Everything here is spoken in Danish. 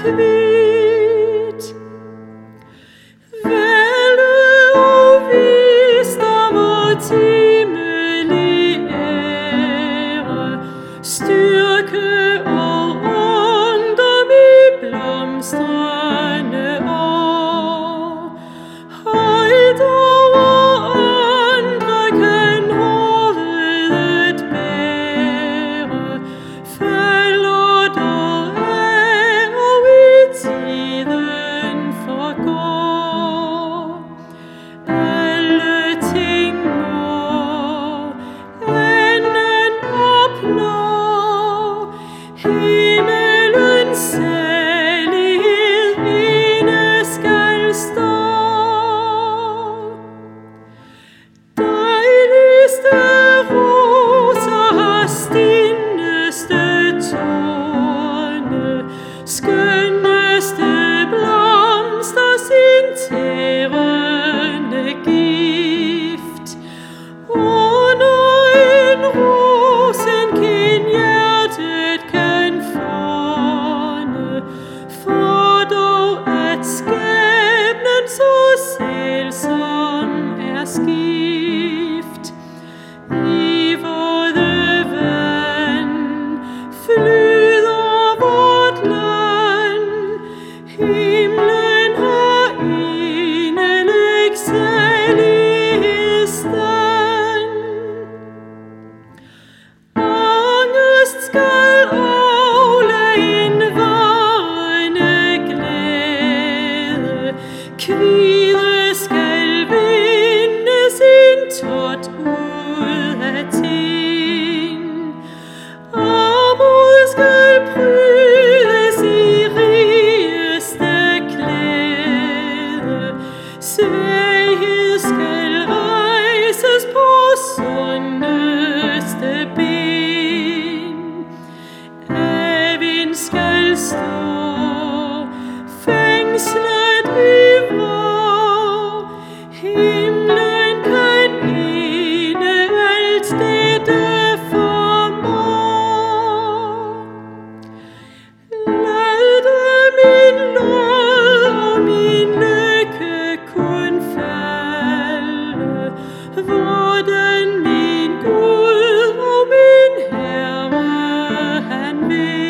kvidt. Vælde og visdom og timelig ære, styrke og ungdom i blomstrende år. Højt over andre kan hovedet bære, falder dog af og i tiden forgår. Alle ting må enden opnå, himmelens salighed inde skal stå. Dejligste roser har stinneste torne, skønneste blomster sin tærende gift. Under en rosenkind hjertet kan fåne, for dog at skæbnen så sælsom er skift. I våde vand flyder vort land, himlen har inderlig salighedsstand. Angest skal aflade en varende glæde, kvide skal vinde sin tot ud af ting. Armod skal prydes i rigeste klæde, svaghed skal rejses på sundeste ben. Evin skal stå fængslet i vrå, himlen kan ene alt dette formå. Lad min nåd og min lykke kun falde, hvordan min Gud og min Herre han vil.